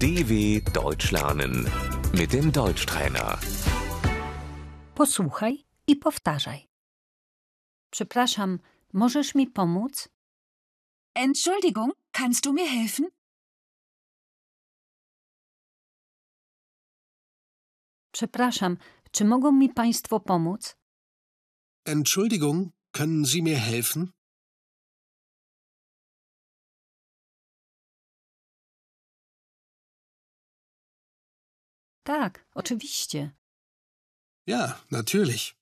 DW Deutsch lernen mit dem Deutschtrainer. Posłuchaj i powtarzaj. Przepraszam, możesz mi pomóc? Entschuldigung, kannst du mir helfen? Przepraszam, czy mogą mi państwo pomóc? Entschuldigung, können Sie mir helfen? Tak, oczywiście. Ja, natürlich.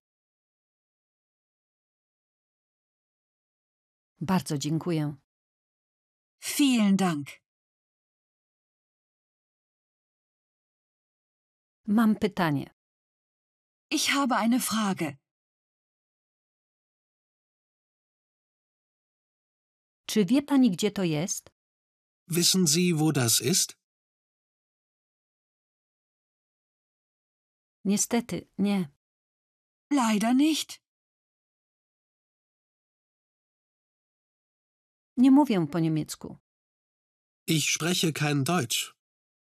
Bardzo dziękuję. Vielen Dank. Mam pytanie. Ich habe eine Frage. Czy wie pani, gdzie to jest? Wissen Sie, wo das ist? Niestety, nie. Leider nicht. Nie mówię po niemiecku. Ich spreche kein Deutsch.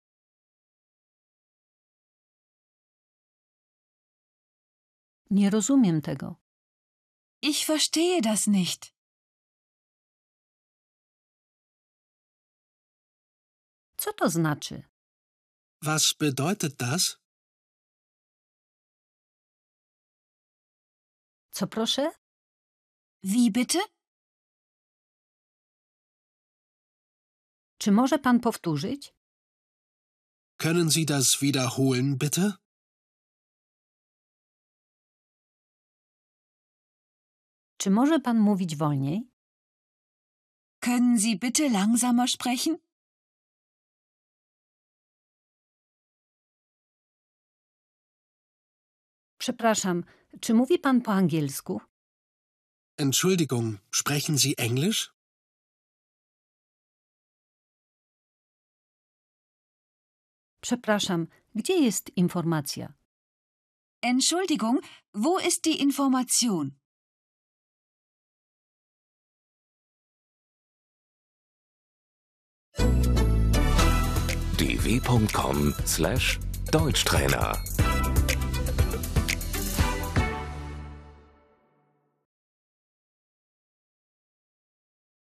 Nie rozumiem tego. Ich verstehe das nicht. Co to znaczy? Was bedeutet das? Co proszę? Wie bitte? Czy może pan powtórzyć? Können Sie das wiederholen, bitte? Czy może pan mówić wolniej? Können Sie bitte langsamer sprechen? Przepraszam, czy mówi pan po angielsku? Entschuldigung, sprechen Sie Englisch? Przepraszam, gdzie jest informacja? Entschuldigung, wo ist die Information? dw.com/Deutschtrainer